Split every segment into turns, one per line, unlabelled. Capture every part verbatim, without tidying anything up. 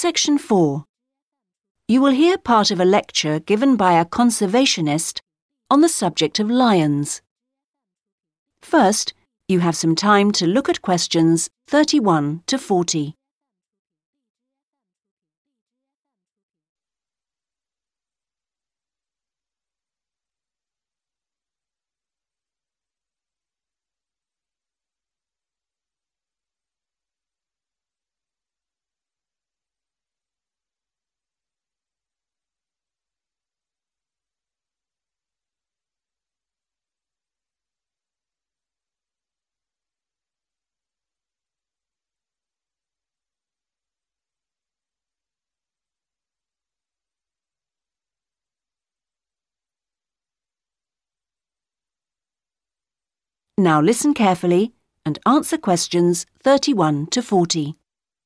Section four. You will hear part of a lecture given by a conservationist on the subject of lions. First, you have some time to look at questions thirty-one to forty. Now listen carefully and answer questions thirty-one to forty.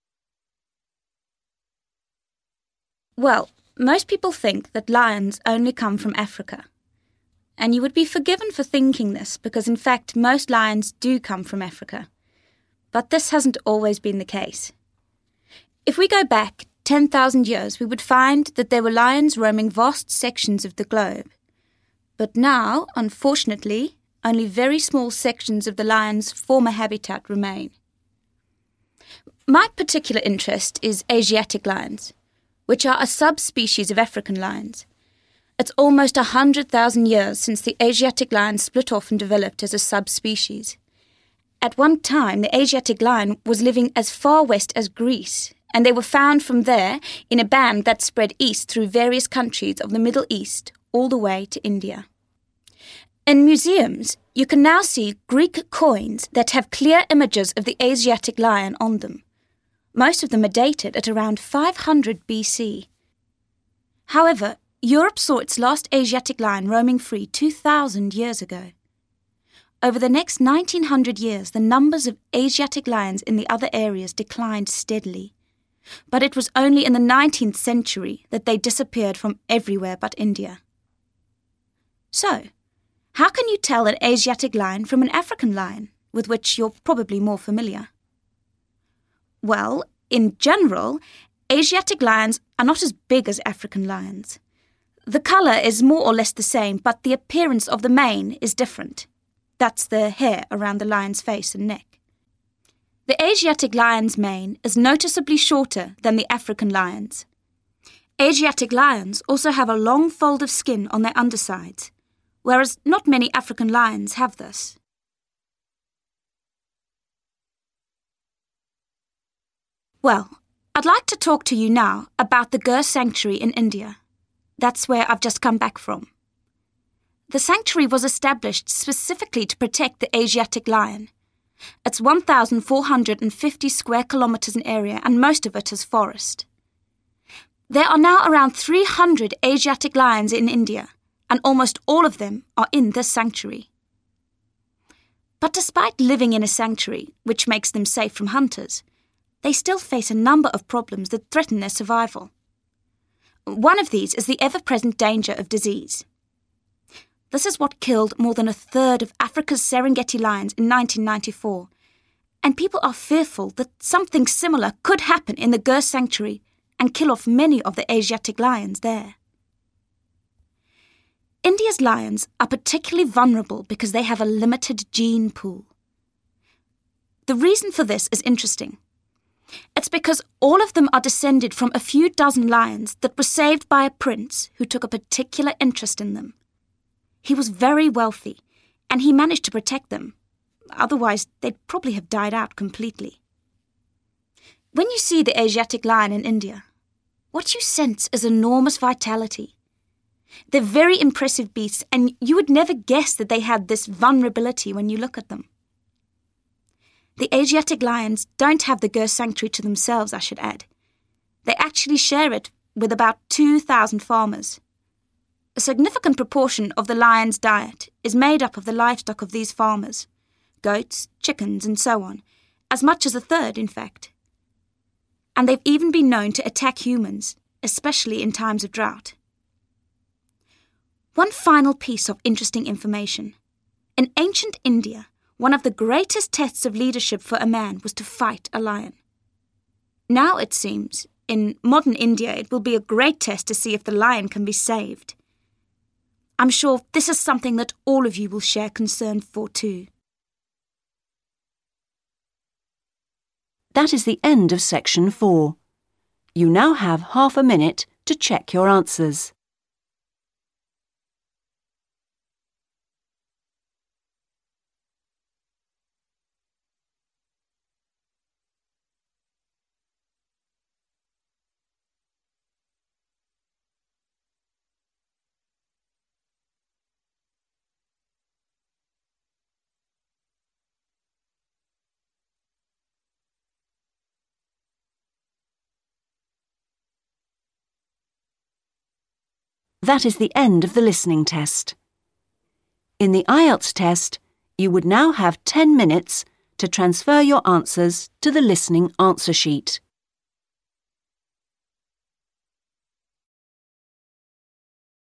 Well, most people think that lions only come from Africa. And you would be forgiven for thinking this because in fact most lions do come from Africa. But this hasn't always been the case. If we go back ten thousand years, we would find that there were lions roaming vast sections of the globe. But now, unfortunately, only very small sections of the lion's former habitat remain. My particular interest is Asiatic lions, which are a subspecies of African lions. It's almost one hundred thousand years since the Asiatic lion split off and developed as a subspecies. At one time, the Asiatic lion was living as far west as Greece, and they were found from there in a band that spread east through various countries of the Middle East all the way to India. In museums, you can now see Greek coins that have clear images of the Asiatic lion on them. Most of them are dated at around five hundred B C. However, Europe saw its last Asiatic lion roaming free two thousand years ago. Over the next nineteen hundred years, the numbers of Asiatic lions in the other areas declined steadily. But it was only in the nineteenth century that they disappeared from everywhere but India. So, how can you tell an Asiatic lion from an African lion, with which you're probably more familiar? Well, in general, Asiatic lions are not as big as African lions. The colour is more or less the same, but the appearance of the mane is different. That's the hair around the lion's face and neck. The Asiatic lion's mane is noticeably shorter than the African lion's. Asiatic lions also have a long fold of skin on their undersides, whereas not many African lions have this. Well, I'd like to talk to you now about the Gir Sanctuary in India. That's where I've just come back from. The sanctuary was established specifically to protect the Asiatic lion. It's one thousand four hundred fifty square kilometres in area and most of it is forest. There are now around three hundred Asiatic lions in India, and almost all of them are in this sanctuary. But despite living in a sanctuary, which makes them safe from hunters, they still face a number of problems that threaten their survival. One of these is the ever-present danger of disease. This is what killed more than a third of Africa's Serengeti lions in nineteen ninety-four, and people are fearful that something similar could happen in the Gir Sanctuary and kill off many of the Asiatic lions there. India's lions are particularly vulnerable because they have a limited gene pool. The reason for this is interesting. It's because all of them are descended from a few dozen lions that were saved by a prince who took a particular interest in them. He was very wealthy, and he managed to protect them. Otherwise, they'd probably have died out completely. When you see the Asiatic lion in India, what you sense is enormous vitality. They're very impressive beasts, and you would never guess that they had this vulnerability when you look at them. The Asiatic lions don't have the Gir Sanctuary to themselves, I should add. They actually share it with about two thousand farmers. A significant proportion of the lion's diet is made up of the livestock of these farmers, goats, chickens, and so on, as much as a third, in fact. And they've even been known to attack humans, especially in times of drought. One final piece of interesting information. In ancient India, one of the greatest tests of leadership for a man was to fight a lion. Now, it seems, in modern India, it will be a great test to see if the lion can be saved. I'm sure this is something that all of you will share concern for too.
That is the end of section four. You now have half a minute to check your answers. That is the end of the listening test. In the I E L T S test, you would now have ten minutes to transfer your answers to the listening answer sheet.